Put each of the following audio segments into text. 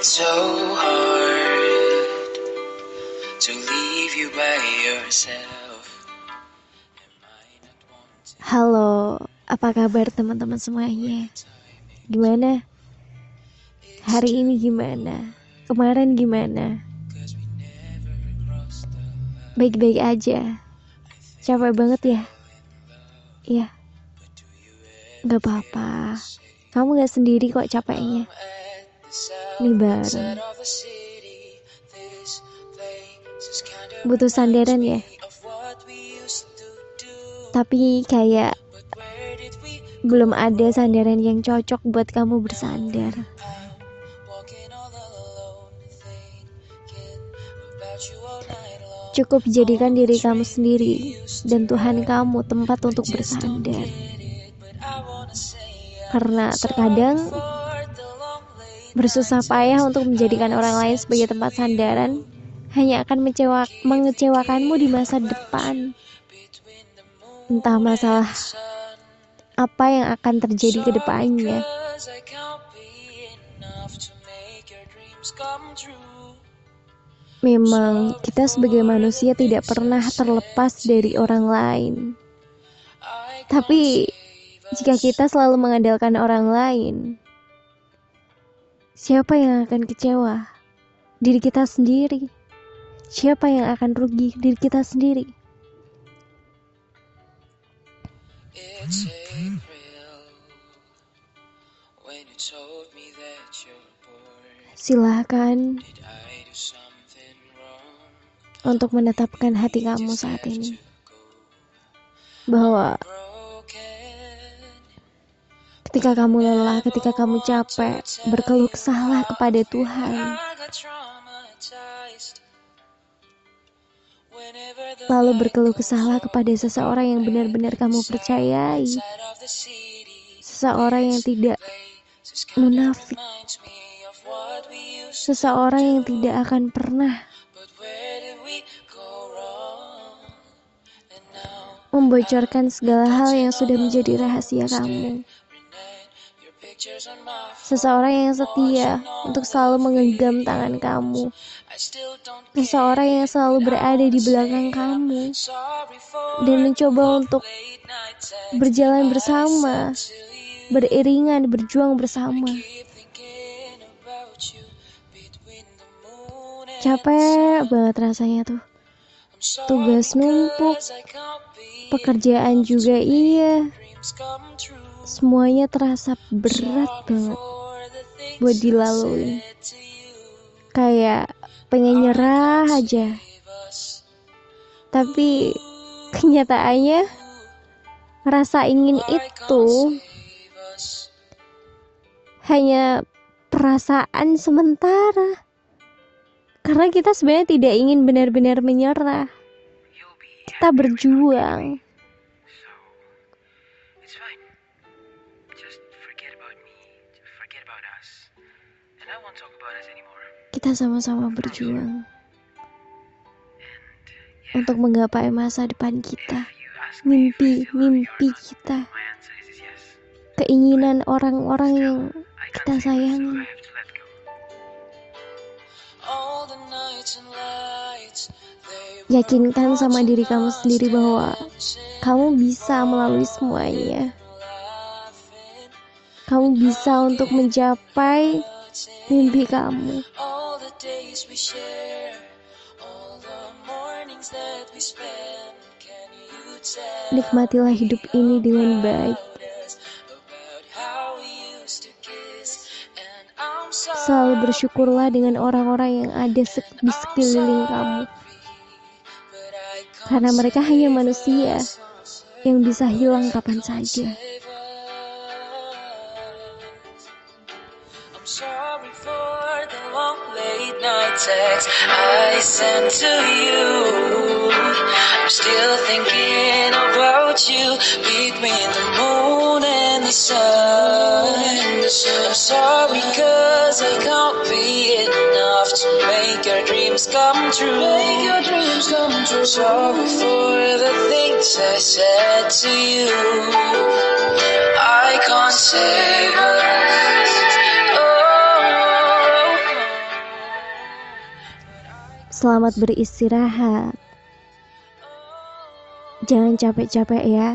so hard to leave you by yourself. Halo, apa kabar teman-teman semuanya? Gimana? Hari ini gimana? Kemarin gimana? Baik-baik aja. Capek banget ya? Iya. Gak apa-apa. Kamu gak sendiri kok capeknya. Ini bareng. Butuh sandaran ya? Tapi kayak belum ada sandaran yang cocok buat kamu bersandar. Cukup jadikan diri kamu sendiri dan Tuhan kamu tempat untuk bersandar. Karena terkadang bersusah payah untuk menjadikan orang lain sebagai tempat sandaran hanya akan mengecewakanmu di masa depan. Entah masalah apa yang akan terjadi ke depannya. Memang kita sebagai manusia tidak pernah terlepas dari orang lain. Tapi jika kita selalu mengandalkan orang lain, siapa yang akan kecewa? Diri kita sendiri. Siapa yang akan rugi? Diri kita sendiri. Silahkan untuk menetapkan hati kamu saat ini bahwa ketika kamu lelah, ketika kamu capek, berkeluh kesahlah kepada Tuhan. Lalu berkeluh kesahlah kepada seseorang yang benar-benar kamu percayai. Seseorang yang tidak munafik. Seseorang yang tidak akan pernah membocorkan segala hal yang sudah menjadi rahasia kamu. Seseorang yang setia untuk selalu menggenggam tangan kamu. Seseorang yang selalu berada di belakang kamu dan mencoba untuk berjalan bersama, beriringan, berjuang bersama. Capek banget rasanya tuh. Tugas numpuk, pekerjaan juga iya. Semuanya terasa berat banget buat dilalui. Kayak pengen nyerah aja. Tapi kenyataannya rasa ingin itu hanya perasaan sementara. Karena kita sebenarnya tidak ingin benar-benar menyerah. Kita berjuang. Kita sama-sama berjuang untuk menggapai masa depan kita, mimpi kita, keinginan orang-orang yang kita sayangi. Yakinkan sama diri kamu sendiri bahwa kamu bisa melalui semuanya. Kamu bisa untuk mencapai mimpi kamu. Nikmatilah hidup ini dengan baik. Selalu bersyukurlah dengan orang-orang yang ada di sekeliling kamu. Karena mereka hanya manusia yang bisa hilang kapan saja. Sorry for the long late night text I sent to you. I'm still thinking about you between the moon and the sun. I'm sorry cause I can't be enough to make your dreams come true. Sorry for the things I said to you. I can't say what Selamat beristirahat. Jangan capek-capek ya.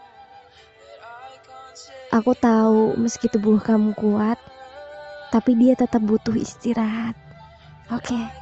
Aku tahu meski tubuh kamu kuat, tapi dia tetap butuh istirahat. Oke.